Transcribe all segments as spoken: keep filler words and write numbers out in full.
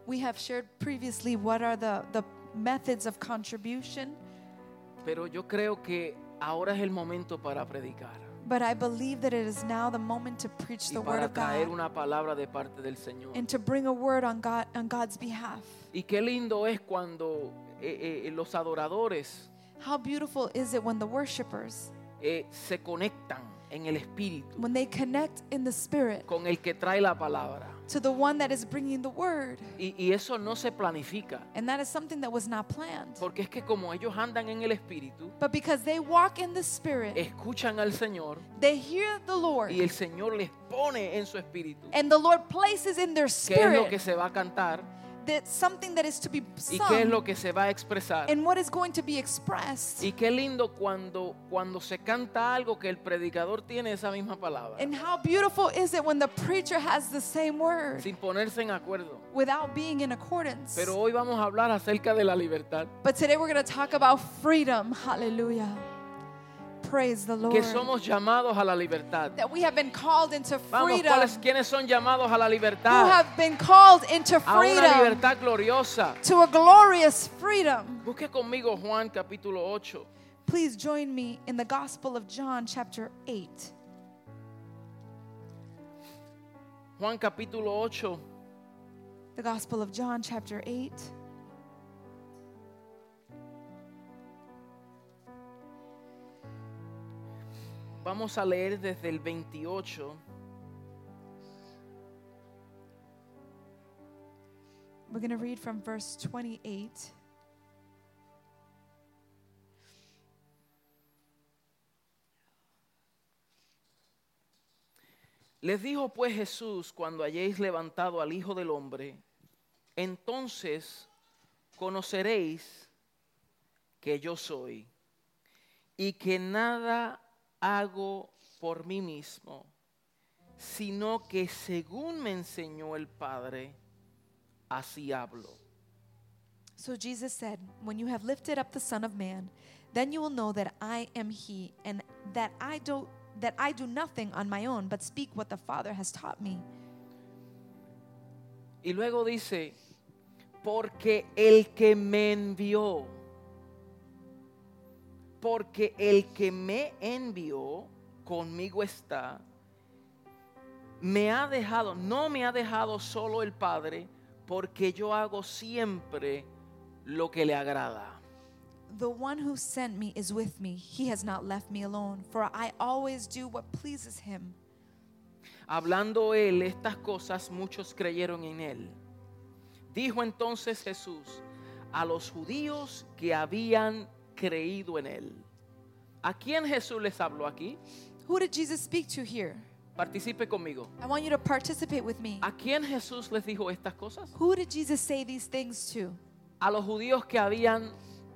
We have shared previously what are the, the methods of contribution. Pero yo creo que ahora es el momento para predicar But I believe that it is now the moment to preach y the word para of traer God una palabra de parte del Señor. and to bring a word on God on God's behalf. Y qué lindo es cuando eh, eh, los adoradores How beautiful is it when the worshipers, eh, se conectan en el espíritu when they connect in the spirit con el que trae la palabra. to the one that is bringing the word. Y, y eso no se planifica, And that is something that was not planned. porque es que como ellos andan en el espíritu, But because they walk in the spirit, escuchan al Señor they hear the Lord, y el Señor les pone en su espíritu and the Lord places in their qué es lo que spirit se va a cantar that something that is to be y qué es sung lo que se va a expresar. and what is going to be expressed. Y qué lindo cuando, cuando se canta algo que el predicador tiene esa misma palabra, And how beautiful is it when the preacher has the same word sin ponerse en acuerdo. without being in accordance. Pero hoy vamos a hablar acerca de la libertad, But today we're going to talk about freedom. Hallelujah. Praise the Lord. que somos llamados a la libertad. That we have been called into Vamos, freedom. ¿cuáles, ¿quiénes son llamados a la Who libertad? have been called into A una freedom. libertad gloriosa. To a glorious freedom. Busque conmigo Juan capítulo ocho. Please join me in the Gospel of John chapter eight. Juan capítulo ocho. The Gospel of John chapter eight. Vamos a leer desde el veintiocho We're going to read from verse twenty-eight. Les dijo pues Jesús: cuando hayáis levantado al Hijo del Hombre, entonces conoceréis que yo soy, y que nada hago por mí mismo, sino que según me enseñó el Padre, así hablo. So Jesus said, when you have lifted up the Son of Man, then you will know that I am he, and that I do that I do nothing on my own, but speak what the Father has taught me. Y luego dice: porque el que me envió, porque el que me envió conmigo está, me ha dejado, no me ha dejado solo el Padre, porque yo hago siempre lo que le agrada. The one who sent me is with me. He has not left me alone, for I always do what pleases him. Hablando él estas cosas, muchos creyeron en él. Dijo entonces Jesús a los judíos que habían creído en él. ¿A quién Jesús les habló aquí? Who did Jesus speak to here? Participe conmigo. I want you to participate with me. ¿A quién Jesús les dijo estas cosas? Who did Jesus say these things to? A los judíos que habían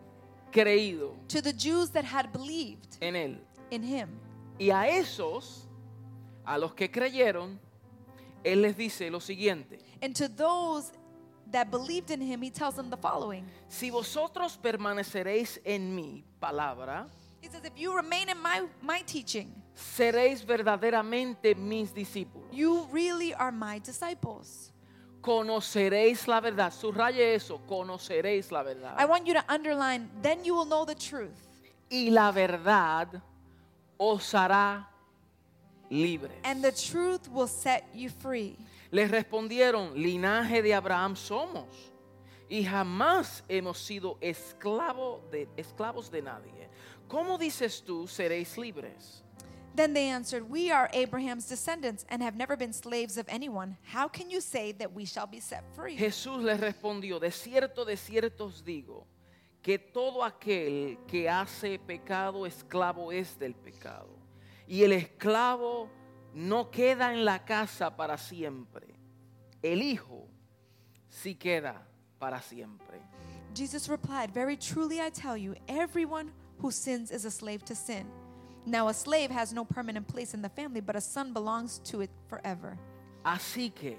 creído To the Jews that had believed en él. in him. Y a esos, a los que creyeron, él les dice lo siguiente: And to those that believed in him, he tells them the following. si vosotros permaneceréis en mi palabra, He says, if you remain in my, my teaching, seréis verdaderamente mis discípulos. you really are my disciples. Conoceréis la verdad. Subraye eso, conoceréis la verdad. I want you to underline, then you will know the truth. Y la verdad os hará libres. And the truth will set you free. Les respondieron: linaje de Abraham somos, y jamás hemos sido esclavo de, esclavos de nadie. ¿Cómo dices tú seréis libres? Then they answered, we are Abraham's descendants and have never been slaves of anyone. How can you say that we shall be set free? Jesús les respondió: de cierto, de cierto os digo, que todo aquel que hace pecado, esclavo es del pecado. Y el esclavo no queda en la casa para siempre. El Hijo sí queda para siempre. Jesus replied, very truly I tell you, everyone who sins is a slave to sin. Now a slave has no permanent place in the family, but a son belongs to it forever. Así que,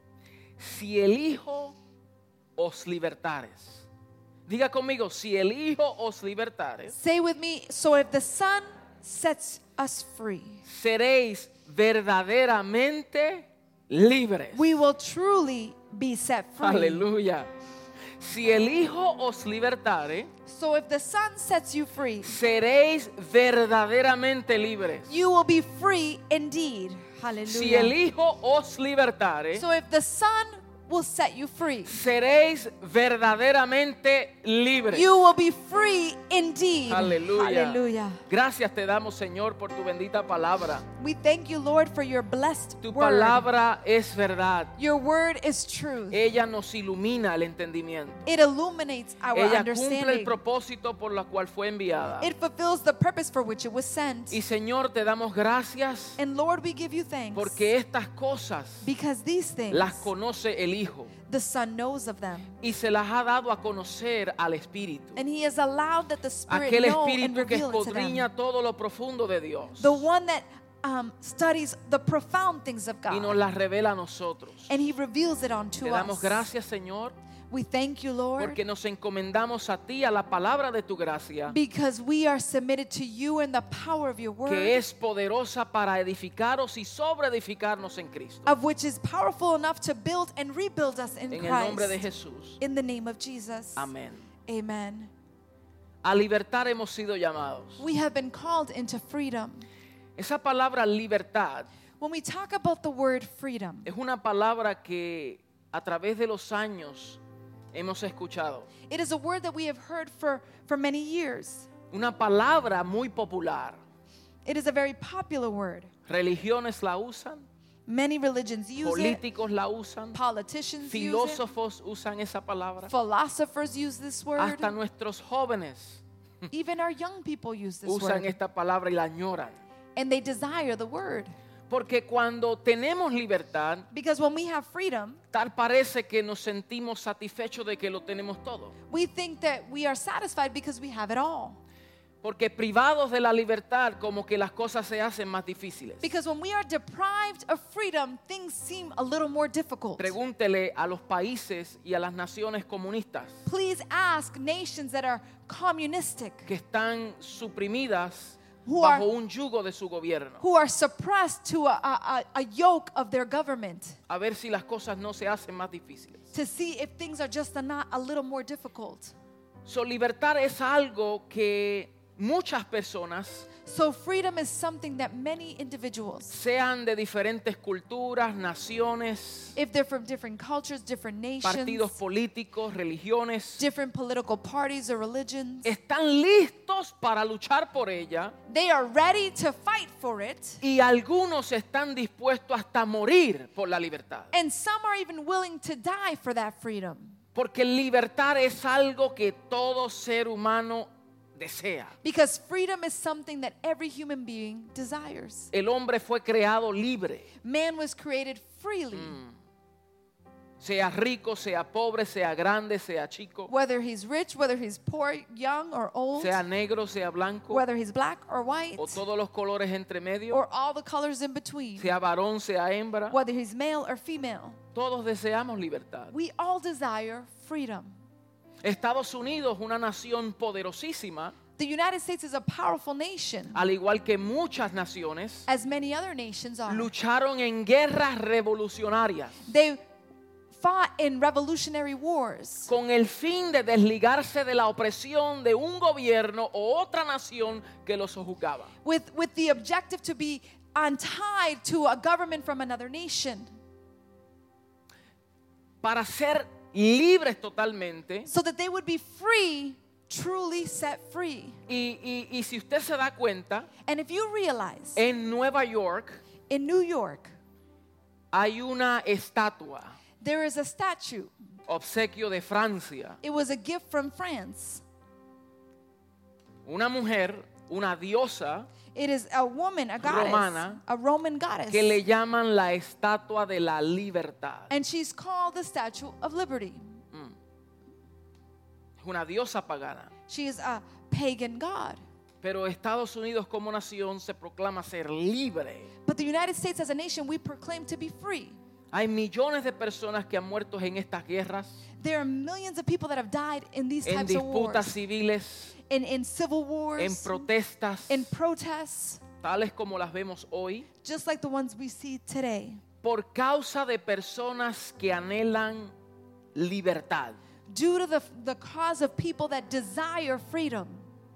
si el Hijo os libertares, diga conmigo, si el Hijo os libertares, Say with me, so if the Son sets us free, seréis verdaderamente libres. we will truly be set free. Aleluya. Si el Hijo os libertare, So if the Son sets you free, seréis verdaderamente libres. you will be free indeed. Si el Hallelujah. Hijo os libertare, So if the Son will set you free, seréis verdaderamente libres. you will be free indeed. Aleluya. Hallelujah. Gracias te damos, Señor, por tu bendita palabra. We thank you, Lord, for your blessed Tu word. palabra es verdad. Your word is truth. Ella nos ilumina el entendimiento. It illuminates our Ella cumple el understanding. propósito por la cual fue enviada. It fulfills the purpose for which it was sent. Y Señor, te damos gracias And Lord, we give you thanks porque estas cosas because these things las conoce el Hijo the Son knows of them. y se las ha dado a conocer al Espíritu. And he has allowed that the Spirit Aquel know and Espíritu que reveal it to them. escudriña todo lo profundo de Dios The one that um, studies the profound things of y nos God. las revela a nosotros. And he reveals it unto Te damos us. gracias, Señor, We thank you, Lord, porque nos encomendamos a ti, a la palabra de tu gracia, because we are submitted to you and the power of your word, que es poderosa para edificaros y sobre edificarnos en Cristo. of which is powerful enough to build and rebuild us in En el nombre de Christ. Jesús. In the name of Jesus. Amén. Amen. A libertar hemos sido llamados. We have been called into freedom. Esa palabra libertad When we talk about the word freedom, es una palabra que a través de los años hemos escuchado. it is a word that we have heard for, for many years. Una palabra muy popular. It is a very popular word. Religiones la usan, Many religions use políticos la usan, it, politicians use it, filósofos usan esa palabra, philosophers use this word, hasta nuestros jóvenes even our young people use this usan word, esta palabra y la añoran. and they desire the word. Porque cuando tenemos libertad, Because when we have freedom, tal parece que nos sentimos satisfechos de que lo tenemos todo. we think that we are satisfied because we have it all. Porque privados de la libertad, como que las cosas se hacen más difíciles. Because when we are deprived of freedom, things seem a little more difficult. Pregúntele a los países y a las naciones comunistas Please ask nations that are communistic, que están suprimidas Who bajo are- un yugo de su gobierno, who are suppressed to a, a, a yoke of their government, a ver si las cosas no se hacen más difíciles. to see if things are just a, not a little more difficult. So, libertad es algo que muchas personas, So freedom is something that many individuals, sean de diferentes culturas, naciones, if they're from different cultures, different partidos nations, políticos, religiones, different political parties or religions, están listos para luchar por ella they are ready to fight for it. y algunos están dispuestos hasta morir por la libertad. And some are even willing to die for that freedom. Porque libertad es algo que todo ser humano desea. Because freedom is something that every human being desires. El hombre fue creado libre, Man was created freely, sea rico, sea pobre, sea grande, sea chico, whether he's rich, whether he's poor, young or old, sea negro, sea blanco, whether he's black or white, o todos los colores entre medio, or all the colors in between, sea varón, sea hembra. whether he's male or female. Todos deseamos libertad. We all desire freedom. Estados Unidos, una nación poderosísima, The United States is a powerful nation, al igual que muchas naciones, as many other nations are. lucharon en guerras revolucionarias They fought in revolutionary wars con el fin de desligarse de la opresión de un gobierno o otra nación que los sojuzgaba. with, with the objective to be untied to a government from another nation, Para ser libres totalmente. so that they would be free, truly set free. Y, y- y si usted se da cuenta, And if you realize, en Nueva York in New York, hay una estatua, there is a statue. obsequio de Francia. It was a gift from France. Una mujer, una diosa, It is a woman, a goddess, Romana, a Roman goddess. que le llaman la estatua de la libertad. And she's called the Statue of Liberty. Es una diosa pagana. She is a pagan god. Pero Estados Unidos como nación se proclama ser libre. But the United States as a nation, we proclaim to be free. Hay millones de personas que han muerto en estas guerras, There are millions of people that have died in these en types of disputas wars, civiles, in, in civil en wars, protestas, in protests, tales como las vemos hoy, just like the ones we see today. por causa de personas que anhelan libertad. Due to the, the cause of people that desire freedom.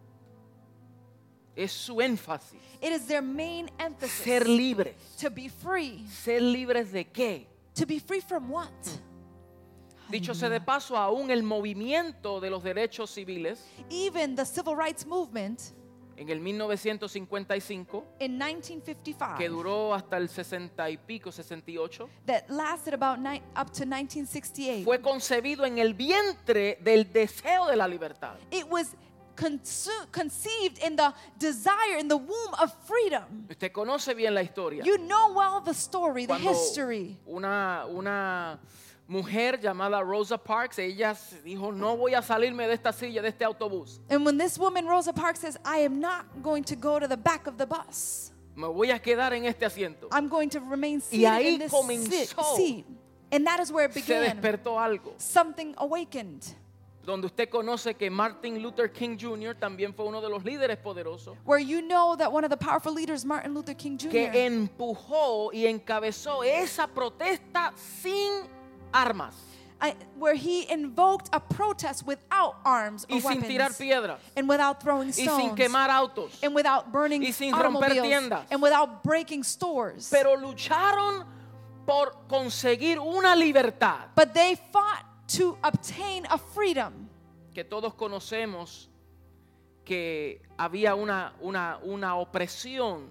Es su énfasis. It is their main emphasis. Ser libres. To be free. ¿Ser libres de qué? To be free from what? Dicho sea de paso, aún el movimiento de los derechos civiles Even the civil rights movement en el mil novecientos cincuenta y cinco, in nineteen fifty-five que duró hasta el sesenta y pico, sesenta y ocho, that lasted about ni- up to nineteen sixty-eight. fue concebido en el vientre del deseo de la libertad. It was consu- conceived in the desire, in the womb of freedom. Usted conoce bien la historia. You know well the story, the Cuando history. una, una mujer llamada Rosa Parks, ella se dijo, no voy a salirme de esta silla, de este autobús. And when this woman, Rosa Parks, says, I am not going to go to the back of the bus. Me voy a quedar en este asiento. I'm going to remain Y ahí seated in this comenzó. si- seat. And that is where it Se began. despertó algo. Something awakened. Donde usted conoce que Martin Luther King junior también fue uno de los líderes poderosos Where you know that one of the powerful leaders, Martin Luther King que Junior, empujó y encabezó esa protesta sin armas I, where he invoked a protest without arms or y sin tirar weapons, piedras and without throwing y sin stones, quemar autos, and without burning y sin romper automobiles, tiendas. and without breaking stores. pero lucharon por conseguir una libertad But they fought to obtain a freedom. que todos conocemos, que había una, una, una opresión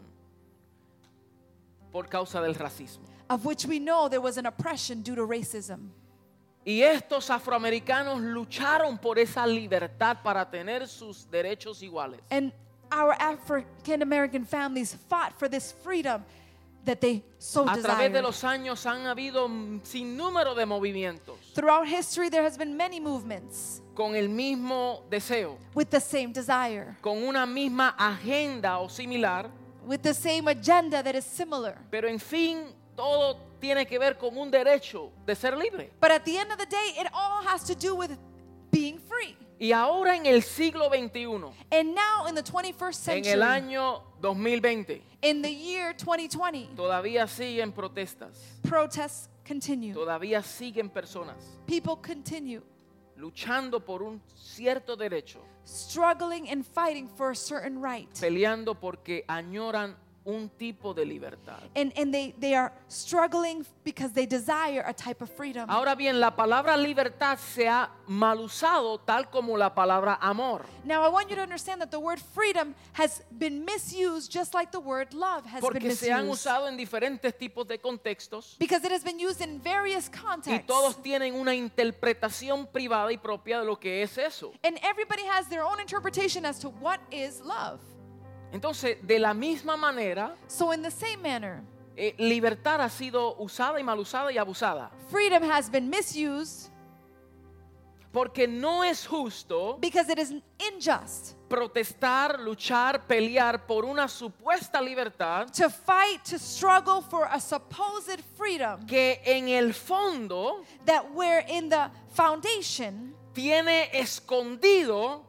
por causa del racismo. Of which we know there was an oppression due to racism. Y estos afroamericanos lucharon por esa libertad para tener sus derechos iguales. And our African American families fought for this freedom that they so A través de desired. los años han habido un sinnúmero de movimientos Throughout history, there has been many movements con el mismo deseo, with the same desire, con una misma agenda o similar, with the same agenda that is similar. pero en fin, todo tiene que ver con un derecho de ser libre. But at the end of the day, it all has to do with being free. Y ahora en el siglo veintiuno, And now in the twenty-first en century, el año dos mil veinte, in the year twenty twenty, todavía siguen protestas, protests continue. todavía siguen personas People continue luchando por un cierto derecho, struggling and fighting for a certain right. peleando porque añoran un tipo de libertad. And, and they, they are struggling because they desire a type of freedom. Ahora bien, la palabra libertad se ha mal usado tal como la palabra amor, Now, I want you to understand that the word freedom has been misused just like the word love has been porque se han misused. usado en diferentes tipos de contextos Because it has been used in various y contexts. todos tienen una interpretación privada y propia de lo que es eso. And everybody has their own interpretation as to what is love. Entonces, de la misma manera, So in the same manner, eh, libertad ha sido usada y mal usada y abusada. freedom has been misused Porque no es justo because it is unjust protestar, luchar, pelear por una supuesta libertad to fight, to struggle for a supposed freedom que en el fondo that where in the foundation tiene escondido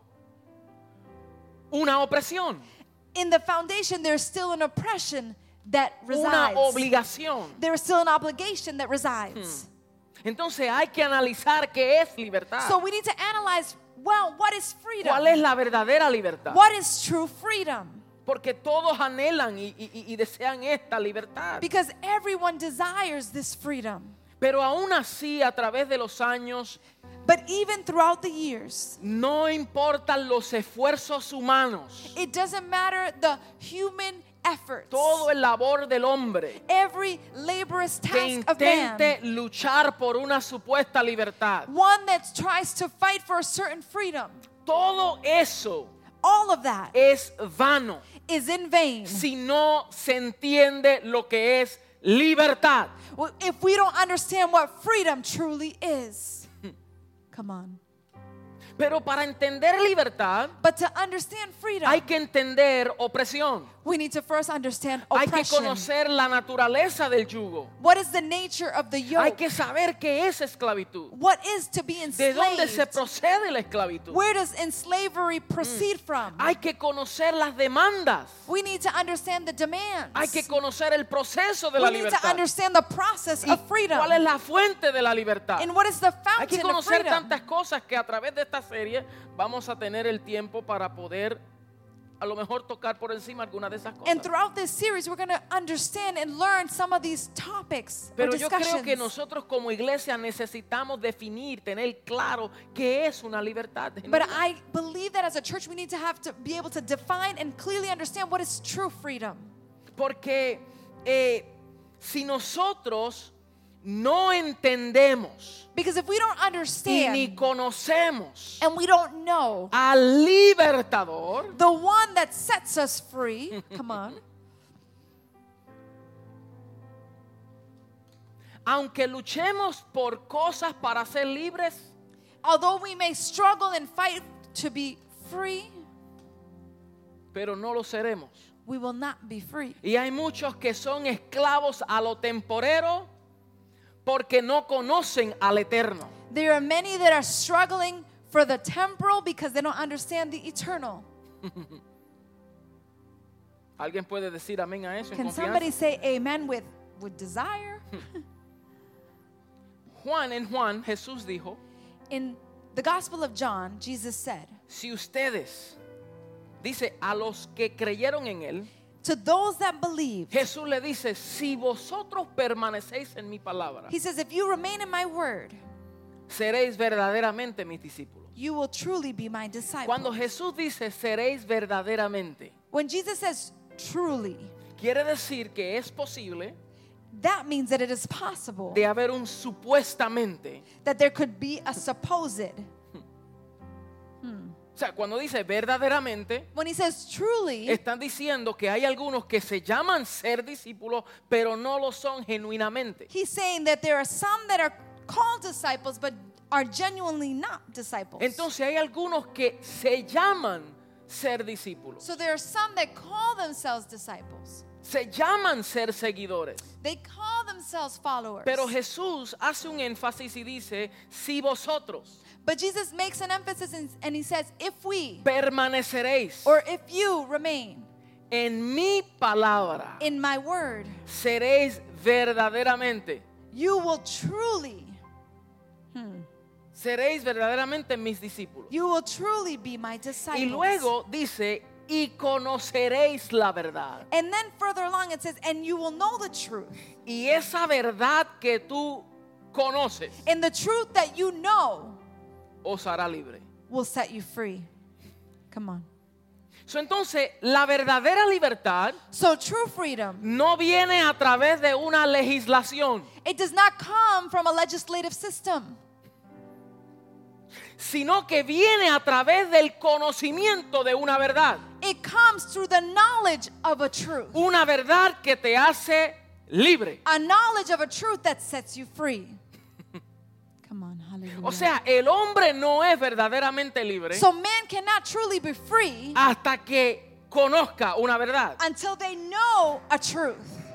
una opresión, in the foundation there's still an oppression that una resides. obligación. There is still an obligation that resides. Entonces hay que analizar qué es libertad. So we need to analyze, well, what is freedom? ¿Cuál es la verdadera libertad? What is true freedom? Porque todos anhelan y, y- y desean esta libertad. Because everyone desires this freedom. Pero aún así, a través de los años, But even throughout the years, no importan los esfuerzos humanos, it doesn't matter the human efforts. todo el labor del hombre Every laborious que task of man. intente luchar por una supuesta libertad. One that tries to fight for a certain freedom. Todo eso All of that es vano is in vain. si no se entiende lo que es libertad. Well, if we don't understand what freedom truly is. Come on. Pero para entender libertad But to understand freedom, hay que entender opresión. we need to first understand Hay que oppression. conocer la naturaleza del yugo. What is the nature of the yoke? Hay que saber qué es esclavitud. What is to be ¿De dónde se enslaved? procede la esclavitud? Where does enslavery proceed from? Hay que conocer las demandas. We need to understand the demands. Hay que conocer el proceso de la We need to libertad. understand the process ¿Y of freedom. cuál es la fuente de la libertad? And what is the Hay que fountain of conocer freedom? tantas cosas que a través de esta serie vamos a tener el tiempo para poder a lo mejor tocar por encima alguna de esas cosas. And throughout this series, we're going to understand and learn some of these topics or Pero yo creo discussions. que nosotros como iglesia necesitamos definir, tener claro qué es una libertad. But I believe that as a church, we need to have to be able to define and clearly understand what is true freedom. Porque eh, si nosotros no entendemos Because if we don't y understand ni conocemos and we don't know al libertador, the one that sets us free, come on, aunque luchemos por cosas para ser libres, although we may struggle and fight to be free, pero no lo seremos. we will not be free. Y hay muchos que son esclavos a lo temporero porque no conocen al eterno. There are many that are struggling for the temporal because they don't understand the eternal. ¿Alguien puede decir amén a eso en Can confianza? somebody say amen with, with desire? Juan en Juan, Jesús dijo, In the Gospel of John, Jesus said, si ustedes, dice, a los que creyeron en él, to those that believe, Jesús le dice, si vosotros permanecéis en mi palabra, he says, if you remain in my word, seréis verdaderamente mis discípulos. you will truly be my disciple. Cuando Jesús dice seréis verdaderamente, When Jesus says truly, quiere decir que es posible that means that it is possible de haber un supuestamente. that there could be a supposed. O sea, cuando dice verdaderamente, When he says truly, están diciendo que hay algunos que se llaman ser discípulos, pero no lo son genuinamente. he's saying that there are some that are called disciples but are genuinely not disciples. Entonces hay algunos que se llaman ser discípulos, So there are some that call themselves disciples. se llaman ser seguidores. They call themselves followers. Pero Jesús hace un énfasis y dice, si vosotros But Jesus makes an emphasis in, and he says, if we permaneceréis or if you remain en mi palabra, in my word, seréis verdaderamente, you will truly, seréis verdaderamente mis discípulos. you will truly be my disciples. Y luego dice, y conoceréis la verdad. And then further along it says, and you will know the truth. Y esa verdad que tú conoces And the truth that you know os hará libre. will set you free. Come on. So, entonces, la verdadera libertad So true freedom, no viene a través de una legislación, it does not come from a legislative system, sino que viene a través del conocimiento de una verdad. it comes through the knowledge of a truth. Una verdad que te hace libre. A knowledge of a truth that sets you free. Come on, hallelujah. O sea, el hombre no es verdaderamente libre So man cannot truly be free hasta que conozca una verdad. until they know a truth.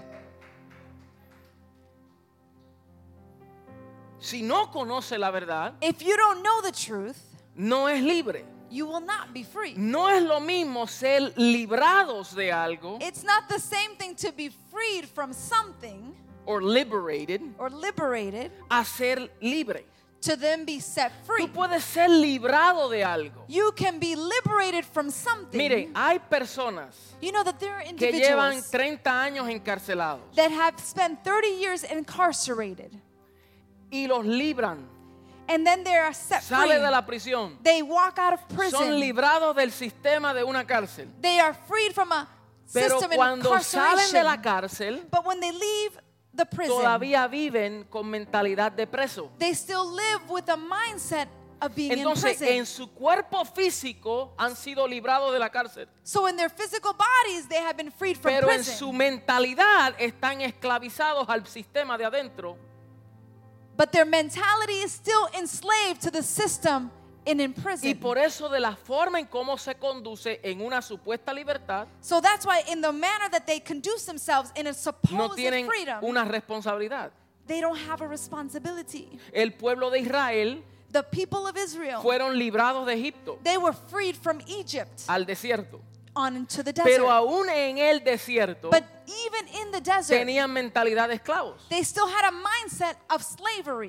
Si no conoce la verdad, If you don't know the truth, no es libre. you will not be free. No es lo mismo ser librados de algo It's not the same thing to be freed from something or liberated or liberated a ser libre. to then be set free. Tú puedes ser librado de algo. You can be liberated from something. Mire, hay personas You know that there are que llevan individuals treinta años encarcelados that have spent thirty years incarcerated y los libran. and then they are set Sale free. de la prisión. They walk out of Son prison. librados del sistema de una cárcel. They are freed from a Pero system of cuando salen de la incarceration. cárcel, But when they leave the prison, todavía viven con mentalidad de preso. they still live with a mindset of being Entonces, in prison. en su cuerpo físico han sido librados de la cárcel. So in their physical bodies, they have been freed from Pero en prison. su mentalidad están esclavizados al sistema de adentro. But their mentality is still enslaved to the system and in Y prison. por eso de la forma en cómo se conduce en una supuesta libertad, So that's why in the manner that they conduce themselves in a no supposed tienen freedom, una responsabilidad. they don't have a responsibility. El pueblo de Israel The people of Israel, fueron librados de Egipto they were freed from Egypt al desierto. on into the desert. Pero aún en el desierto But even in the desert, tenían mentalidad de esclavos. they still had a mindset of slavery.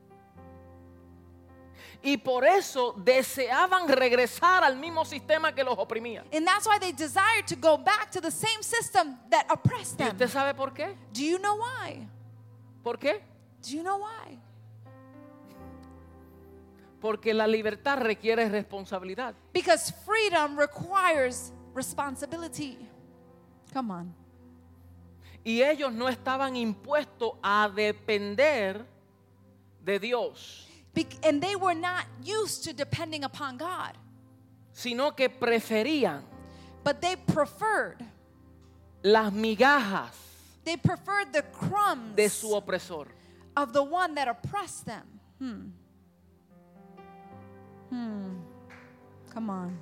Y por eso deseaban regresar al mismo sistema que los oprimía. And that's why they desired to go back to the same system that oppressed ¿Y them. usted sabe por qué? Do you know why? ¿Por qué? Do you know why? Porque la libertad requiere responsabilidad. Because freedom requires responsibility. Come on. Y ellos no estaban impuestos a depender de Dios, Be- and they were not used to depending upon God, sino que preferían but they preferred las migajas they preferred the crumbs de su opresor. of the one that oppressed them. Hmm. Hmm. Come on.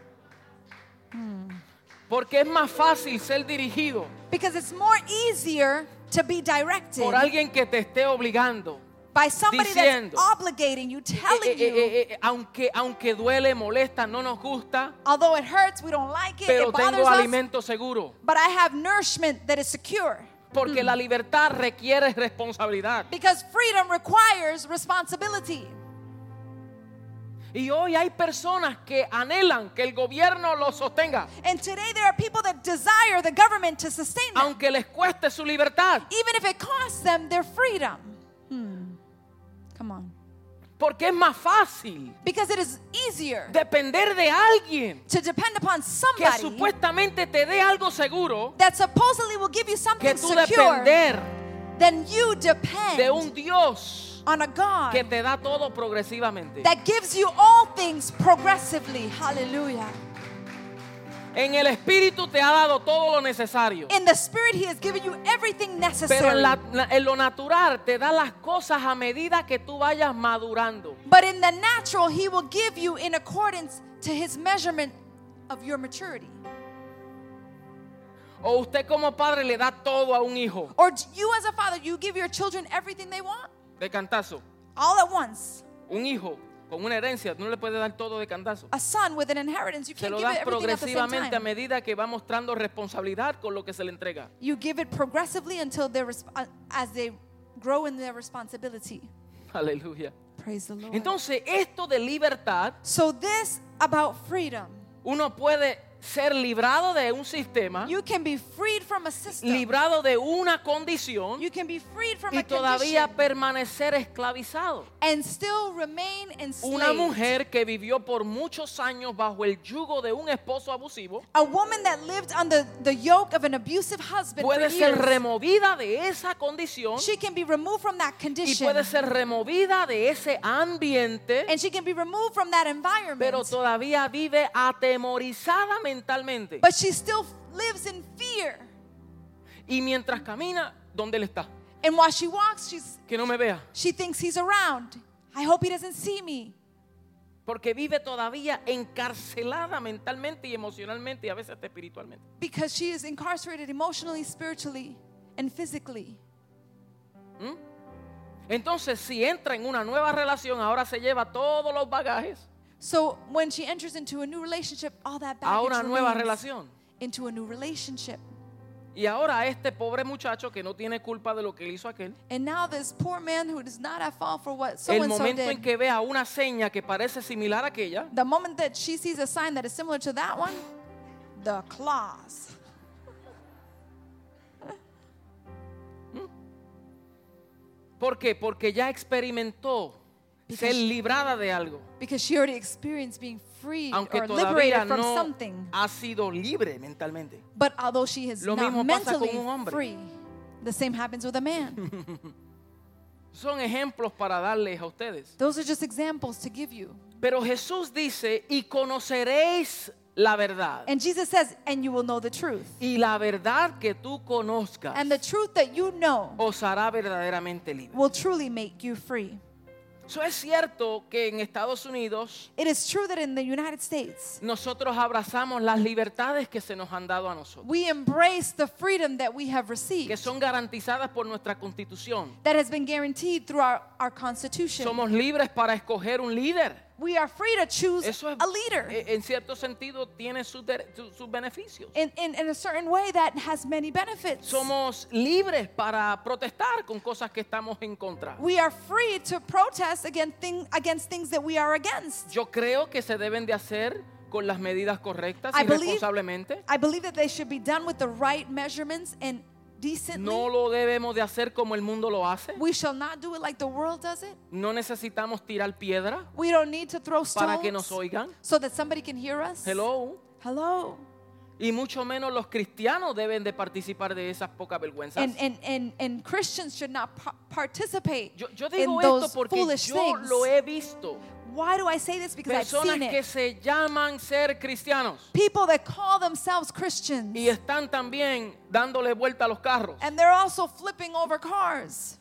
Porque es más fácil ser dirigido Because it's more easier to be directed por alguien que te esté obligando. by somebody diciendo, that's obligating you, Eh, telling eh, you, eh, eh, aunque, aunque duele, molesta, no nos gusta, although it hurts, we don't like it, pero it bothers tengo us, alimento seguro. but I have nourishment that is secure. Porque la libertad requiere responsabilidad. Because freedom requires responsibility. Y hoy hay personas que anhelan que el gobierno los sostenga, And today there are people that desire the government to sustain them, aunque les cueste su libertad. even if it costs them their freedom. Hmm. Come on. Porque es más fácil Because it is easier depender de alguien to depend upon que somebody supuestamente te dé algo seguro that supposedly will give you que something tú secure depender than you depend de un Dios on a God que te da todo progresivamente. that gives you all things progressively. Hallelujah. En el Espíritu te ha dado todo lo necesario. In the Spirit, He has given you everything Pero necessary. en, la- la- en lo natural te da las cosas a medida que tú vayas madurando. But in the natural, He will give you in accordance to His measurement of your maturity. O usted como padre le da todo a un hijo Or you as a father, you give your children everything they want de cantazo. all at once. Un hijo con una herencia, tú no le puedes dar todo de cantazo. A son with an inheritance, you Se can't lo give it das everything at the same progresivamente a time. medida que va mostrando responsabilidad con lo que se le entrega. You give it progressively until they're resp- uh, as they grow in their responsibility. Aleluya. Praise the Lord. Entonces, esto de libertad, So this about freedom, uno puede ser librado de un sistema, you can be freed from a system. librado de una condición You can be freed from y a todavía condition permanecer esclavizado. and still remain Una enslaved. mujer que vivió por muchos años bajo el yugo de un esposo abusivo A woman that lived under the yoke of an abusive husband for puede ser years, removida de esa condición she can be removed from that y condition. puede ser removida de ese ambiente, And she can be removed from that environment. pero todavía vive atemorizada mentalmente. But she still lives in fear. Y mientras camina, ¿dónde él está? And while she walks, she's, Que no me vea. she thinks he's around. I hope he doesn't see me. Porque vive todavía encarcelada mentalmente y emocionalmente y a veces hasta espiritualmente. Because she is incarcerated emotionally, spiritually, and physically. ¿Mm? Entonces, si entra en una nueva relación, ahora se lleva todos los bagajes So when she enters into a new relationship, all that a baggage una nueva remains relación. into a new relationship. Y ahora este pobre muchacho que no tiene culpa de lo que él hizo aquel, And now this poor man who is not at fault for what so el and so momento en did, que vea una seña que parece similar a aquella, the moment that she sees a sign that is similar to that one, the claws. ¿por qué? Porque ya experimentó ser librada de algo, Because she already experienced being freed aunque or todavía liberated from no something. ha sido libre mentalmente. But although she is Lo not mismo pasa con mentally un hombre. free, the same happens with a man. Son ejemplos para darles a ustedes. Those are just examples to give you. Pero Jesús dice, y conoceréis la verdad. And Jesus says, and you will know the truth. Y la verdad que tú conozcas And the truth that you know os hará verdaderamente libre. will truly make you free. Eso es cierto que en Estados Unidos It is true that in the United States, nosotros abrazamos las libertades que se nos han dado a nosotros, we embrace the freedom that we have que received, son garantizadas por nuestra Constitución. that has been guaranteed through our, our Constitution. Somos libres para escoger un líder. We are free to choose Eso es, a leader. eh, en cierto sentido, tiene sus, dere- su- sus beneficios. In, in, in a certain way that has many benefits. Somos libres para protestar con cosas que estamos en contra. We are free to protest against, thing, against things that we are against. Yo creo que se deben de hacer con las medidas correctas I y believe- responsablemente. I believe that they should be done with the right measurements and decently. No lo debemos de hacer como el mundo lo hace. We shall not do it like the world does it. No necesitamos tirar piedra We don't need to throw para que stones nos oigan. so that somebody can hear us. Hello. Hello. Y mucho menos los cristianos deben de participar de esas pocas vergüenzas. And, and, and, and Christians should not pa- participate Yo, yo in digo esto those porque foolish yo things. lo he visto. Why do I say this? Because I've Personas seen que it. se llaman ser cristianos People that call themselves Christians. y están también dándole vuelta a los carros And they're also flipping over cars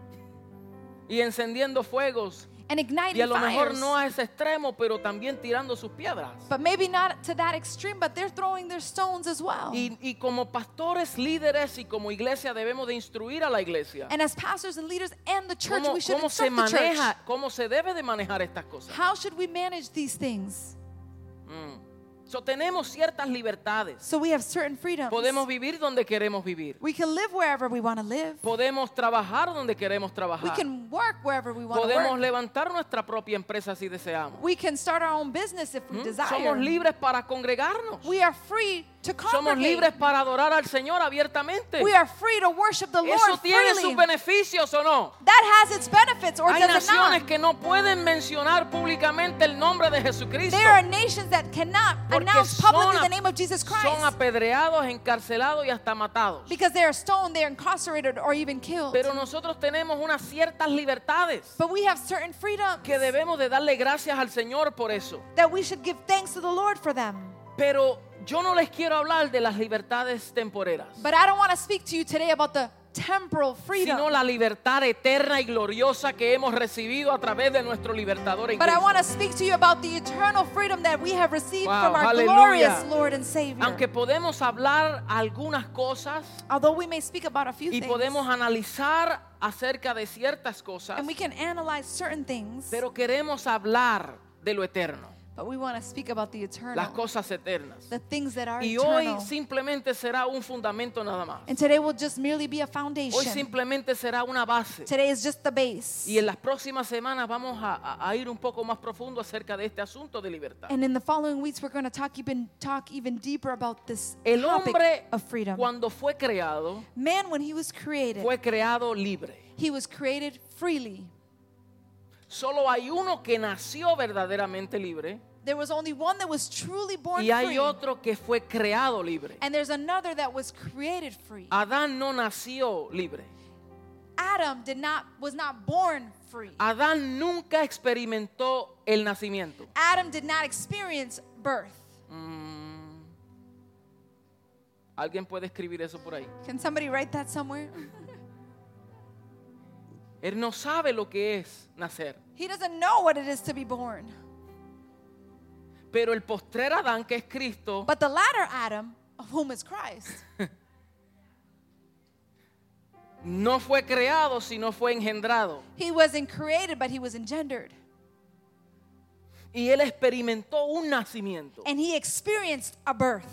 y encendiendo fuegos. and igniting Y a lo mejor fires. no a ese extremo, pero también tirando sus piedras. But maybe not to that extreme, but they're throwing their stones as well. Y, y como pastores, líderes y como iglesia debemos de instruir a la iglesia. And as pastors and leaders and the church, ¿Cómo, we should cómo se instruct the church. maneja, cómo se debe de manejar estas cosas? How should we manage these things? Mm. So, tenemos ciertas libertades. So we have certain freedoms. Podemos vivir donde queremos vivir. We can live wherever we want to live. Podemos trabajar donde queremos We trabajar. can work wherever we want to Podemos work. levantar nuestra propia empresa si deseamos. We can start our own business if we ¿Mm? desire. Somos libres para congregarnos. We are free to Somos congregate. libres para adorar al Señor abiertamente. We are free to worship the ¿Eso Lord tiene freely. sus beneficios o no? That has its benefits, or Hay does it naciones not? que no pueden mencionar públicamente el nombre de Jesucristo. There are nations that cannot Porque announce son, publicly a- the name of Jesus son Christ apedreados, encarcelados y hasta matados. because they are stoned, they are incarcerated, or even killed. Pero nosotros tenemos unas ciertas libertades But we have certain freedoms que debemos de darle gracias al Señor por eso. that we should give thanks to the Lord for them. Pero yo no les quiero hablar de las libertades temporeras, But I don't want to speak to you today about the temporal freedom. sino la libertad eterna y gloriosa que hemos recibido a través de nuestro libertador en But I Cristo. want to speak to you about the eternal freedom that we have received Wow, from our hallelujah. glorious Lord and Savior. Aunque podemos hablar algunas cosas Although we may speak about a few y things, podemos analizar acerca de ciertas cosas, and we can analyze certain things, pero queremos hablar de lo eterno, but we want to speak about the eternal, las cosas eternas. the things that are Y hoy eternal. simplemente será un fundamento nada más. And today will just merely be a Hoy foundation. simplemente será una base. Today is just the base. Y en las próximas semanas vamos a, a- a ir un poco más profundo acerca de este asunto de libertad. And in the following weeks, we're going to talk even talk even deeper about this El topic hombre, of freedom. cuando fue creado, Man, when he was created, fue creado libre. he was created freely. Solo hay uno que nació verdaderamente libre There was only one that was truly born y hay free, otro que fue creado libre. and there's another that was created free. Adán no nació libre. Adam did not was not born free. Adán nunca experimentó el nacimiento. Adam did not experience birth. Mm. ¿Alguien puede escribir eso por ahí? Can somebody write that somewhere? Él no sabe lo que es nacer. He doesn't know what it is to be born. Pero el postrer Adán, que es Cristo, But the latter Adam, of whom is Christ, no fue creado, sino fue engendrado. he wasn't created, but he was engendered. Y él experimentó un nacimiento. And he experienced a birth.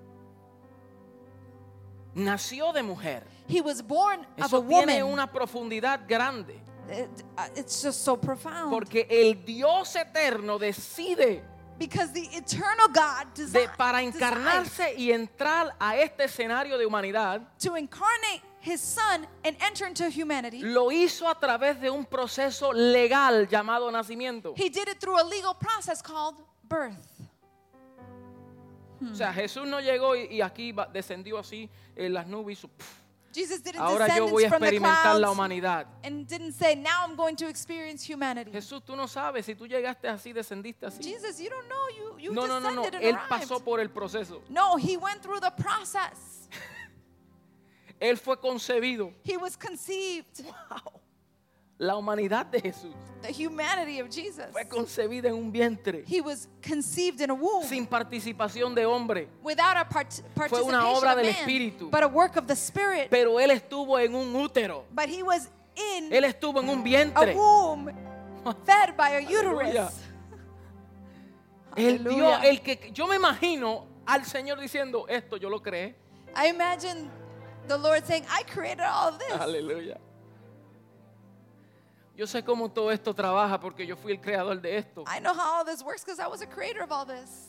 Nació de mujer. He was born of a Eso tiene woman. una profundidad grande. It- uh, it's just so profound. Porque el Dios eterno decide Because the eternal God de, designed para encarnarse y entrar a este escenario de humanidad. to incarnate his son and enter into humanity. Lo hizo a través de un proceso legal llamado nacimiento. He did it through a legal process called birth. O sea, Jesús no llegó y, y aquí va- descendió así en las nubes. Y su- pf, Jesus didn't ahora yo descend voy a from the experimentar la clouds humanidad. and didn't say, now I'm going to experience humanity. Jesús, tú no sabes si tú llegaste así, descendiste así. Jesus, you don't know. You, you No, no, no, no. descended and Él arrived. pasó por el proceso. No, he went through the process. Él fue concebido. He was conceived. Wow. La humanidad de Jesús The humanity of Jesus. fue concebida en un vientre He was conceived in a womb sin participación de hombre, without a part- Fue una participation obra of del man, Espíritu. but a work of the Spirit. pero él estuvo en un útero. But he was in Él estuvo en un a vientre. womb fed by a Aleluya. uterus. El Dios, Aleluya. el que yo me imagino al Señor diciendo, esto yo lo creé. I imagine the Lord saying, I created all of this. Aleluya. Yo sé cómo todo esto trabaja porque yo fui el creador de esto. I know how all this works because I was a creator of all this.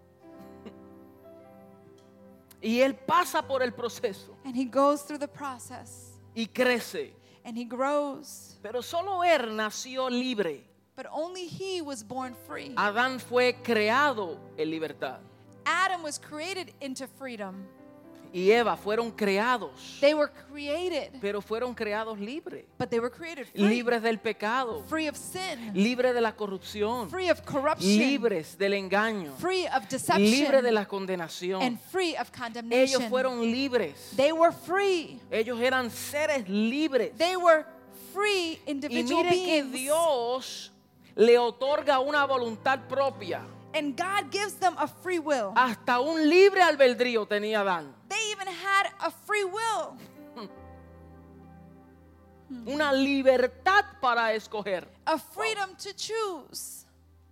Y él pasa por el proceso And he goes through the process y crece. and he grows. Pero solo él nació libre. But only he was born free. Adán fue creado en libertad. Adam was created into freedom. Y Eva fueron creados, They were created, pero fueron creados libres. but they were created free. Libres del pecado, Free of sin. libres de la corrupción, Free of corruption. libres del engaño, Free of deception. libres de la condenación. And free of Ellos condemnation. fueron libres. They were free. Ellos eran seres libres. They were free Y individual mire que beings. Dios le otorga una voluntad propia. And God gives them a free will. Hasta un libre albedrío tenía Adán. They even had a free will. Una libertad para escoger. A freedom to choose.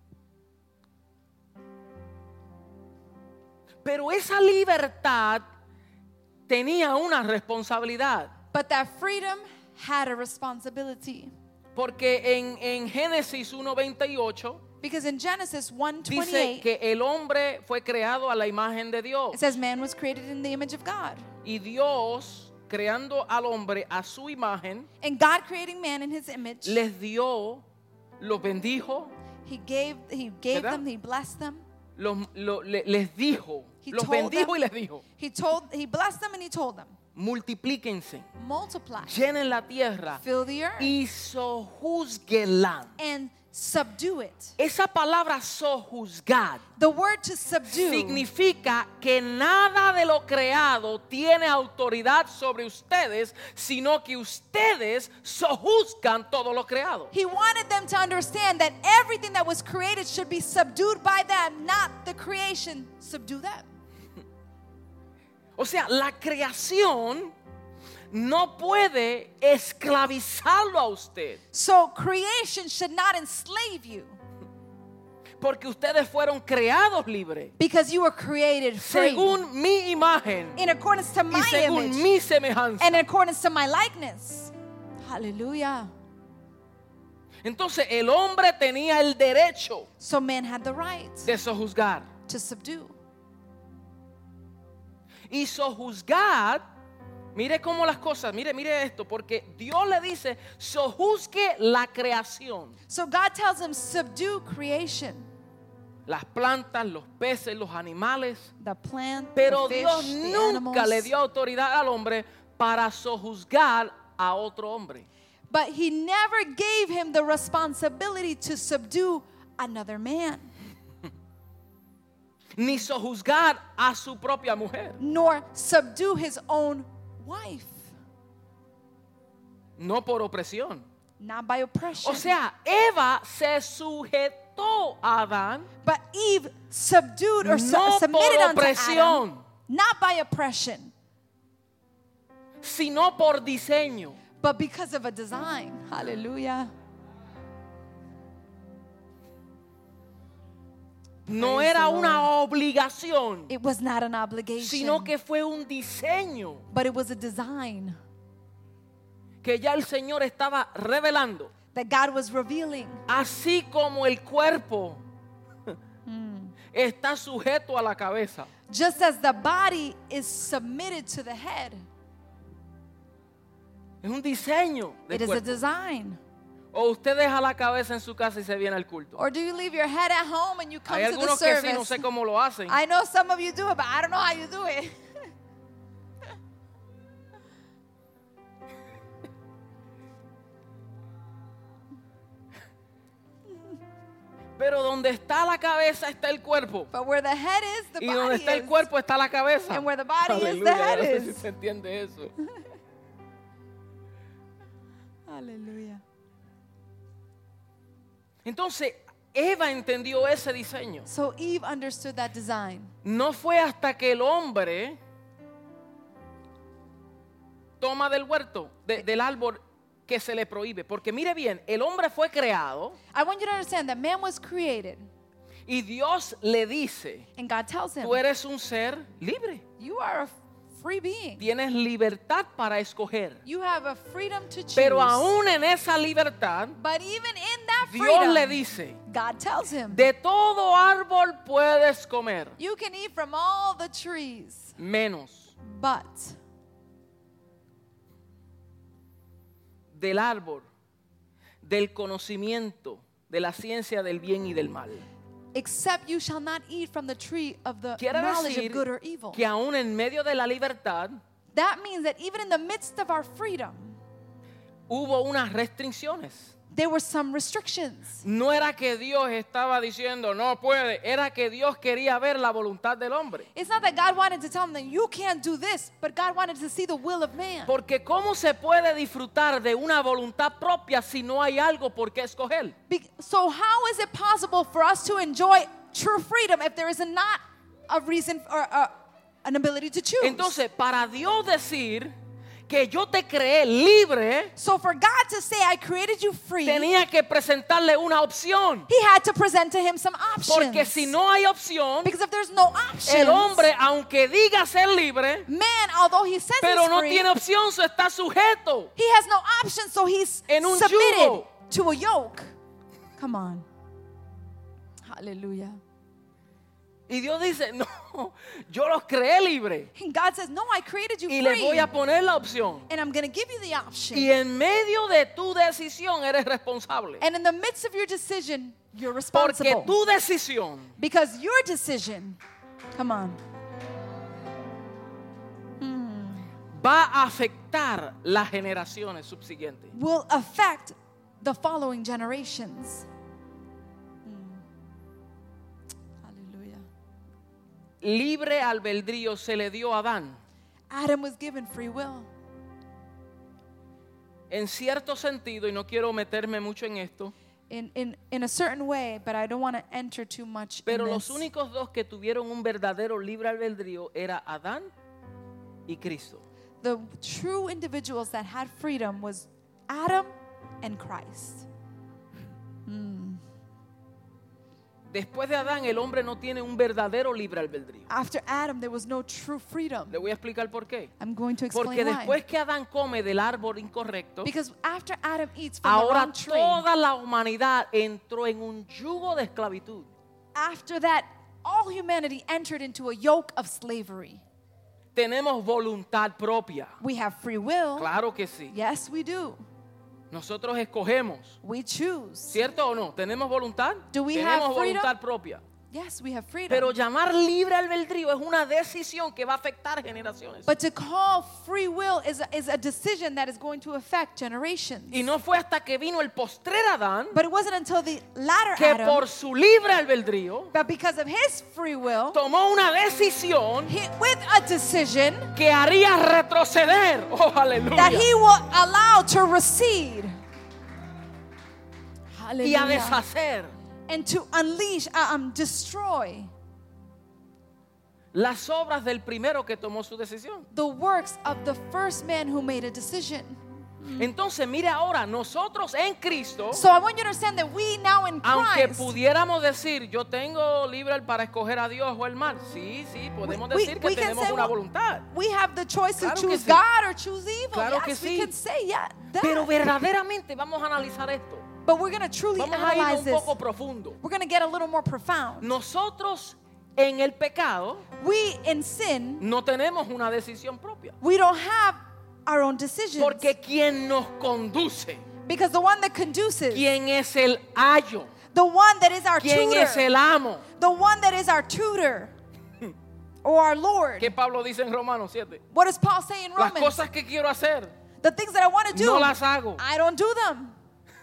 Pero esa libertad tenía una responsabilidad. But that freedom had a responsibility. Porque en, en Génesis uno veintiocho Because in Genesis one dice twenty-eight, que el hombre fue creado a la imagen de Dios. it says man was created in the image of God. Y Dios, creando al hombre a su imagen, And God creating man in his image, les dio, los bendijo, he gave he gave ¿Verdad? them, he blessed them. los, lo- le- les dijo, He los told bendijo them- y les dijo, He told he blessed them and he told them, multiplíquense, multiply, llenen la tierra fill the earth, y sojuzguenla. and subdue it. Esa palabra sojuzgar The word to subdue significa que nada de lo creado tiene autoridad sobre ustedes, sino que ustedes sojuzgan todo lo creado. He wanted them to understand that everything that was created should be subdued by them, not the creation subdue them. O sea, la creación no puede esclavizarlo a usted, So creation should not enslave you porque ustedes fueron creados libres, because you were created free según mi imagen in accordance to y my según image mi semejanza. and in accordance to my likeness. Hallelujah. Entonces el hombre tenía el derecho So man had the right de sojuzgar. to subdue. Y sojuzgar, mire cómo las cosas, mire, mire esto, porque Dios le dice, sojuzgue la creación. So God tells him, subdue creation. Las plantas, los peces, los animales. The plant, Pero the fish, Dios the nunca animals. le dio autoridad al hombre para sojuzgar a otro hombre. But he never gave him the responsibility to subdue another man, Ni sojuzgar a su propia mujer. nor subdue his own wife, No por opresión. not by oppression. O sea, Eva se sujetó a Adán But Eve subdued or su- no submitted por unto opresión, Adam, not by oppression, sino por diseño. but because of a design. Hallelujah. No Praise era the una Lord. obligación, It was not an obligation, sino que fue un diseño but it was a design que ya el Señor estaba revelando. that God was revealing. Así como el cuerpo está sujeto a la cabeza, Just as the body is submitted to the head, es un diseño del it is a cuerpo. design. O usted deja la cabeza en su casa y se viene al culto. Or do you leave your head at home and you come Hay to the algunos que sí, service? no sé cómo lo hacen. I know some of you do it, but I don't know how you do it. Pero donde está la cabeza está el cuerpo. But where the head is, the Y donde body está el is. cuerpo está la cabeza. And where the body is, the Aleluya, head yo no sé si is. se entiende eso. Hallelujah. Entonces, Eva entendió ese diseño. So Eve understood that design. No fue hasta que el hombre toma del huerto, de- del árbol que se le prohíbe. Porque mire bien, el hombre fue creado I want you to understand that man was created, y Dios le dice, and God tells him, tú eres un ser libre. you are a free being. Tienes libertad para escoger. You have a freedom to choose. Pero aún en esa libertad, But even in that Dios freedom, le dice, God tells him, de todo árbol puedes comer, you can eat from all the trees, menos but del árbol del conocimiento de la ciencia del bien y del mal. except you shall not eat from the tree of the Quiere knowledge decir of good or evil. que aún en medio de la libertad That means that even in the midst of our freedom, hubo unas restricciones. there were some restrictions. No era que Dios estaba diciendo no puede, era que Dios quería ver la voluntad del hombre. It's not that God wanted to tell him that you can't do this, but God wanted to see the will of man. Porque ¿cómo se puede disfrutar de una voluntad propia si no hay algo por qué escoger? Be- so how is it possible for us to enjoy true freedom if there is not a reason or a, an ability to choose? Entonces, para Dios decir que yo te creé libre, So for God to say, I created you free, tenía que presentarle una opción. he had to present to him some options. Porque si no hay opción, Because if there's no options, el hombre, aunque diga ser libre, man, although he says pero he's no free, tiene opción, so está sujeto. he has no options, so he's En un submitted yugo. to a yoke. Come on. Hallelujah. Y Dios dice, no, yo los creé libre And God says, no, I created you y le free. voy a poner la opción. And I'm going to give you the option. Y en medio de tu decisión eres responsable. And in the midst of your decision, you're Porque responsible. tu decisión Because your decision, come on, va a afectar las generaciones subsiguientes. will affect the following generations. Hmm. Hallelujah. Libre albedrío se le dio a Adán. Adam was given free will. En cierto sentido, y no quiero meterme mucho en esto, In, in, in a certain way, but I don't want to enter too much pero in los this. únicos dos que tuvieron un verdadero libre albedrío era Adán y Cristo. The true individuals that had freedom was Adam and Christ. Después de Adán, el hombre no tiene un verdadero libre albedrío. After Adam, there was no true freedom. Le voy a explicar por qué. I'm going to explain Porque why. después que Adán come del árbol incorrecto, Because after Adam eats from the ahora wrong tree, toda la humanidad entró en un yugo de esclavitud. after that, all humanity entered into a yoke of slavery. Tenemos voluntad propia. We have free will. Claro que sí. Yes, we do. Nosotros escogemos. We choose. ¿Cierto o no? ¿Tenemos voluntad? Do we Tenemos have freedom? voluntad propia. Yes, we have freedom. Pero llamar libre albedrío es una decisión que va a afectar generaciones. But to call free will is a, is a decision that is going to affect generations. Y no fue hasta que vino el postrer Adán But it wasn't until the latter que Adam, por su libre albedrío but because of his free will, tomó una decisión he, with a decision que haría retroceder. Oh, aleluya. that he will allow to recede. Y a Hallelujah. deshacer And to unleash, uh, um, destroy las obras del primero que tomó su decisión. the works of the first man who made a decision. Entonces, mire ahora, nosotros en Cristo, So I want you to understand that we now in aunque Christ, pudiéramos decir, yo tengo libre para escoger a Dios o el mal. Sí, sí, podemos We- we- decir que we can tenemos say, una well, voluntad. we have the choice to Claro que choose sí. God or choose evil. Claro Yes, que we sí. can say yeah, that. Pero verdaderamente vamos a analizar esto. But we're going to truly Vamos a ir analyze un this. poco profundo. We're going to get a little more profound. Nosotros en el pecado We in sin, no tenemos una decisión propia. we don't have our own decisions. Porque quien nos conduce, Because the one that conduces, quien es el ayo, the one that is our quien tutor, es el amo. the one that is our tutor, or our Lord. ¿Qué Pablo dice en Romanos siete? What does Paul say in Las Romans? cosas que quiero hacer, The things that I want to do, no las hago. I don't do them.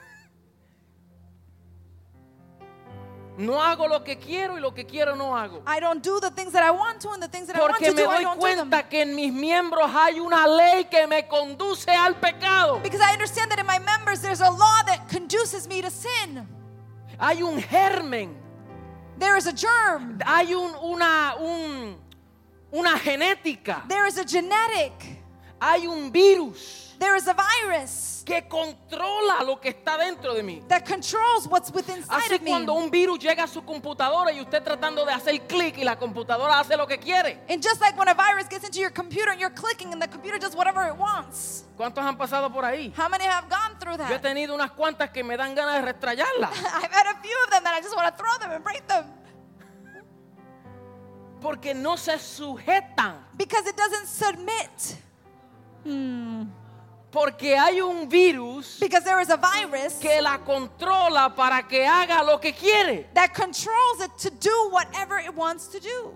No hago lo que quiero y lo que quiero no hago. I don't do the things that I want to, and the things that I want Porque to me do, I doy don't do them. cuenta que en mis miembros hay una ley que me conduce al pecado. Because I understand that in my members there's a law that conduces me to sin. Hay un germen, There is a germ. hay un, una, un, una genética, There is a genetic. hay un virus There is a virus que controla lo que está dentro de mí. that controls what's within inside Así of me. cuando un virus llega a su computadora y usted tratando de hacer clic y la computadora hace lo que quiere. And just like when a virus gets into your computer and you're clicking and the computer does whatever it wants. ¿Cuántos han pasado por ahí? How many have gone through Yo he that? tenido unas cuantas que me dan ganas de restrayarlas. I've had a few of them that I just want to throw them and break them Porque no se sujetan. because it doesn't submit. Porque hay un virus Because there is a virus que la controla para que haga lo que quiere. that controls it to do whatever it wants to do.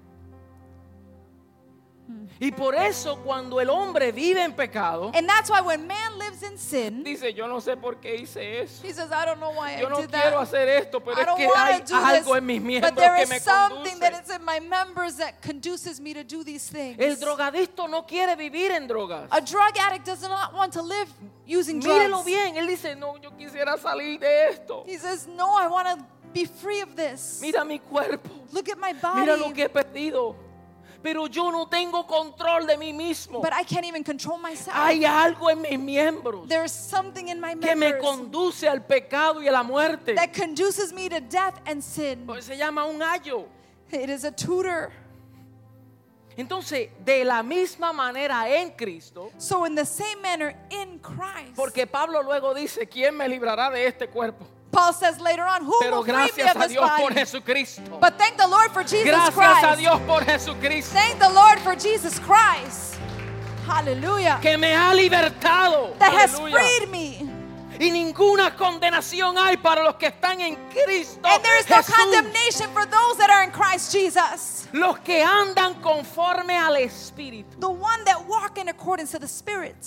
Y por eso cuando el hombre vive en pecado, And that's why when man lives in sin, dice, yo no sé por qué hice eso. he says, I don't know why Yo I no did quiero that. hacer esto, pero I es don't que hay want to do algo this. en mis But miembros there que is me something that conduce. is in my members that conduces me to do these things. El drogadicto no quiere vivir en drogas. A drug addict does not want to live using Mírelo drugs. bien, él dice, no, yo quisiera salir de esto. He says, no, I want to be free of this. Mira mi cuerpo, Look at my body. mira lo que he perdido. Pero yo no tengo control de mí mismo. But I can't even control myself. Hay algo en mis miembros There's something in my que me members conduce al pecado y a la muerte. that conduces me to death and sin. Pues se llama un ayo. It is a tutor. Entonces, de la misma manera en Cristo, So in the same manner in Christ. porque Pablo luego dice, ¿quién me librará de este cuerpo? Paul says later on, who Pero will free me gracias of a this Dios por body? Jesucristo. But thank the Lord for Jesus Gracias Christ. a Dios por Jesucristo. Thank the Lord for Jesus Christ. Hallelujah. Que me ha libertado. That has Aleluya. freed me. Y ninguna condenación hay para los que están en Cristo And there is no Jesús. condemnation for those that are in Christ Jesus. Los que andan conforme al Espíritu. The one that walk in accordance to the Spirit.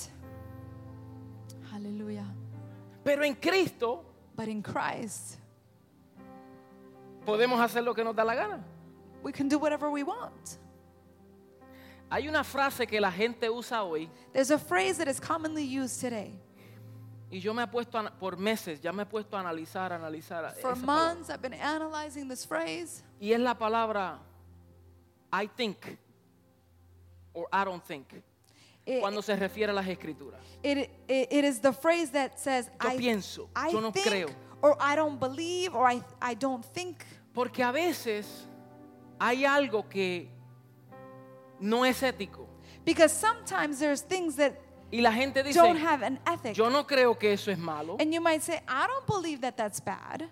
Hallelujah. Pero en Cristo But in Christ, podemos hacer lo que nos da la gana. we can do whatever we want. Hay una frase que la gente usa hoy There's a phrase that is commonly used today. y yo me he puesto a- por meses, ya me he puesto a analizar, analizar For esa palabra. months, I've been analyzing this phrase. Y es la palabra I think or I don't think It, cuando se refiere a las escrituras. it, it, it is the phrase that says, Yo I, pienso, I yo no think, creo. or I don't believe, or I, I don't think. Porque a veces hay algo que no es ético Because sometimes there's things that y la gente dice, don't have an ethic. yo no creo que eso es malo. And you might say, I don't believe that that's bad.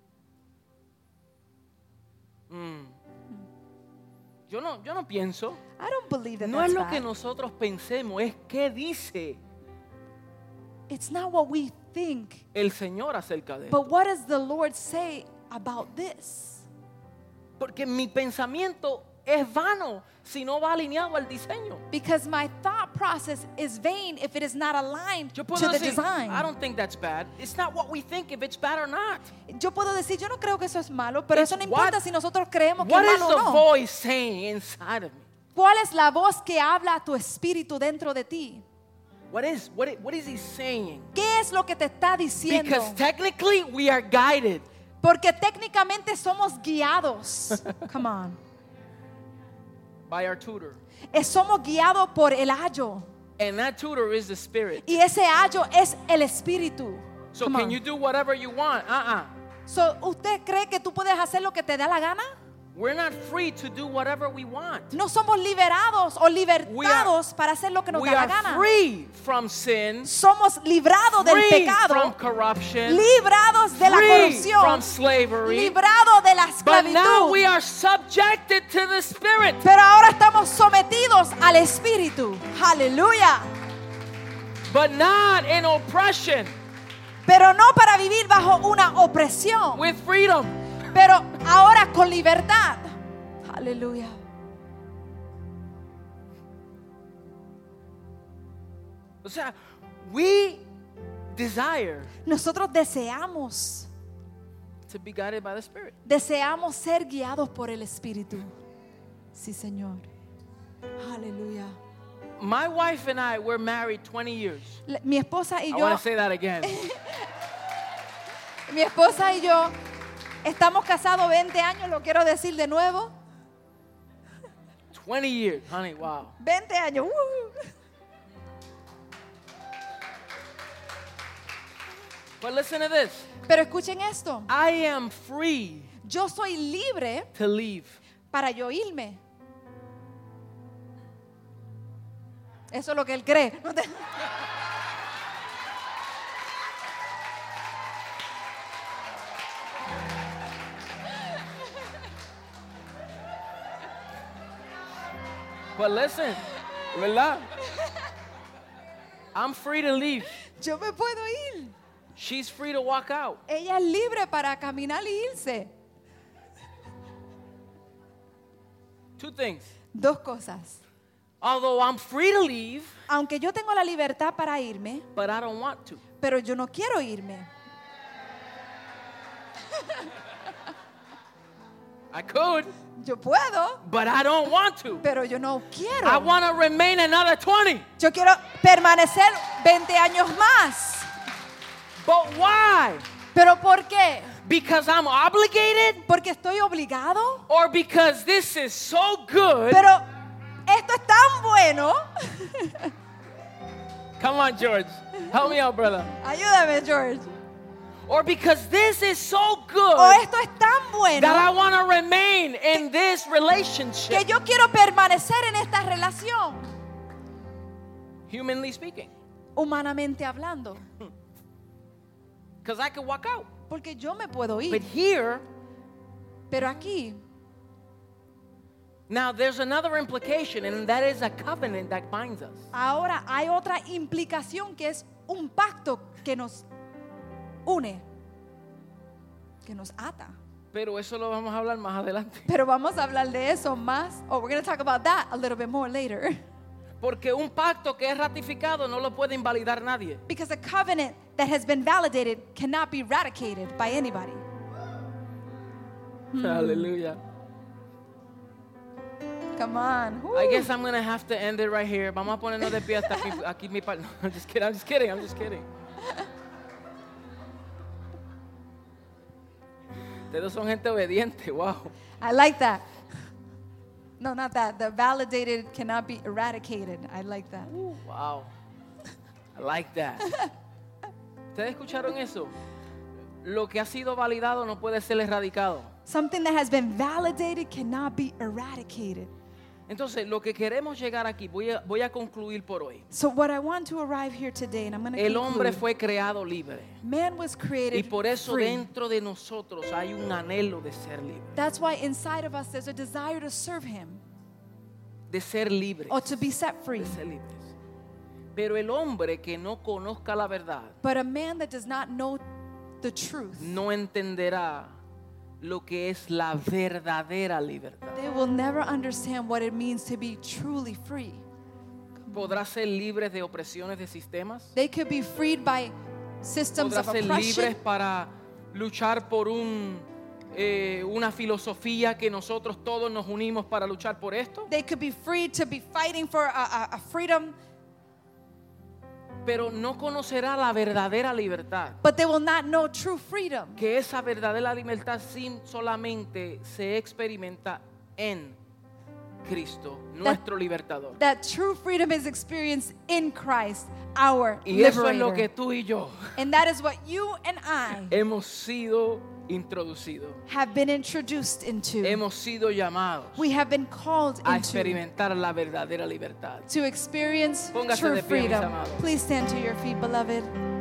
Yo no, yo no pienso. I don't believe that No es that's lo bad. que nosotros pensemos, es qué dice It's not what we think, el Señor acerca de esto. but what does the Lord say about this? Porque mi pensamiento es vano si no va alineado al diseño. Because my thought process is vain if it is not aligned Yo to puedo the decir, design. I don't think that's bad. It's not what we think if it's bad or not. Yo puedo decir, yo no creo que eso es malo, pero It's eso no what- importa si nosotros creemos que What es is malo the o no. voice saying inside of me? ¿Cuál es la voz que habla a tu espíritu dentro de ti? What is, what, i- what is he saying? ¿Qué es lo que te está diciendo? Because technically we are guided. Porque técnicamente somos guiados. Come on. By our tutor. Eh, Somos guiados por el ayo. And that tutor is the Spirit. Y ese ayo es el espíritu. So Come can on. you do whatever you want? Uh-uh. So, ¿usted cree que tú puedes hacer lo que te da la gana? We're not free to do whatever we want. No somos liberados o libertados para hacer lo que nos We da la are gana. free from sin, Somos librados del free pecado, from corruption, librados de la free corrupción, from slavery. librados de la But now esclavitud. we are subjected to the Spirit. Pero ahora estamos sometidos al Espíritu. Aleluya. But not in oppression, Pero no para vivir bajo una opresión, with freedom. pero ahora con libertad. Aleluya. O sea, we desire Nosotros deseamos, to be guided by the Spirit. deseamos ser guiados por el Espíritu. Sí, Señor. Aleluya. My wife and I were married twenty years. Le- Mi esposa y I yo, want to say that again. mi esposa y yo Estamos casados veinte años, lo quiero decir de nuevo. twenty years, honey, wow. veinte años. ¡uh! But listen to this. Pero escuchen esto. I am free Yo soy libre to leave. para yo irme. Eso es lo que él cree. No te- But listen, ¿verdad? I'm free to leave. Yo me puedo ir. She's free to walk out. Ella es libre para caminar y irse. Two things. Dos cosas. Although I'm free to leave, Aunque yo tengo la libertad para irme, but I don't want to. pero yo no quiero irme. I could, Yo puedo, but I don't want to. pero yo no I quiero. want to remain another twenty. Yo quiero permanecer veinte años más. But why? ¿Pero por qué? Because I'm obligated ¿Porque estoy obligado? or because this is so good? Pero esto es tan bueno. Come on, George. Help me out, brother. Ayúdame, George. Or because this is so O good esto es tan that I bueno want to remain in this que relationship. yo quiero permanecer en esta relación. Humanly speaking. Humanamente hablando. Because I could walk out. Porque yo me puedo But ir. here, Pero aquí now there's another implication, and that is a covenant that binds us. ahora hay otra implicación que es un pacto que nos une, que nos ata. Pero eso lo vamos a hablar más adelante. Pero vamos a hablar de eso más. Oh, we're going to talk about that a little bit more later. Porque un pacto que es ratificado no lo puede invalidar nadie. Because a covenant that has been validated cannot be eradicated by anybody. Aleluya. Come on. I Woo. guess I'm going to have to end it right here. Vamos a ponernos de pie hasta aquí, aquí mi par- no, I'm just kidding. I'm just kidding. I'm just kidding. Ustedes son gente obediente. Wow. I like that. No, not that. The validated cannot be eradicated. I like that. Wow. I like that. ¿Ustedes escucharon eso? Lo que ha sido validado no puede ser erradicado. Something that has been validated cannot be eradicated. Entonces, lo que queremos llegar aquí, voy a, voy a concluir por hoy. So what I want to arrive here today, and I'm going to El hombre conclude. fue creado libre. Man was Y created por eso free. dentro de nosotros hay un anhelo de ser libre. That's why inside of us there's a desire to serve Him De ser libres. or to be set free. De ser libres. Pero el hombre que no conozca la verdad But a man that does not know the truth, no entenderá lo que es la verdadera libertad. they will never understand what it means to be truly free. Podrá ser libres de opresiones de sistemas. They could be freed by systems Podrá of ser libres oppression. para luchar por un, eh, una filosofía que nosotros todos nos unimos para luchar por esto. They could be free to be fighting for a, a, a freedom, Pero no conocerá la verdadera libertad. but they will not know true freedom. Que esa verdadera libertad sin solamente se experimenta en Cristo, nuestro libertador. That true freedom is experienced in Christ, our Y eso es lo liberator. que tú y yo And that is what you and I hemos sido introducidos. have been introduced into. Hemos sido llamados We have been called a into experimentar la verdadera libertad. to experience Póngase true de pie, mis freedom. amados. Please stand to your feet, beloved.